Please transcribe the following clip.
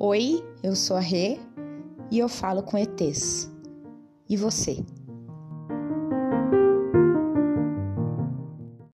Oi, eu sou a Rê e eu falo com ETs. E você?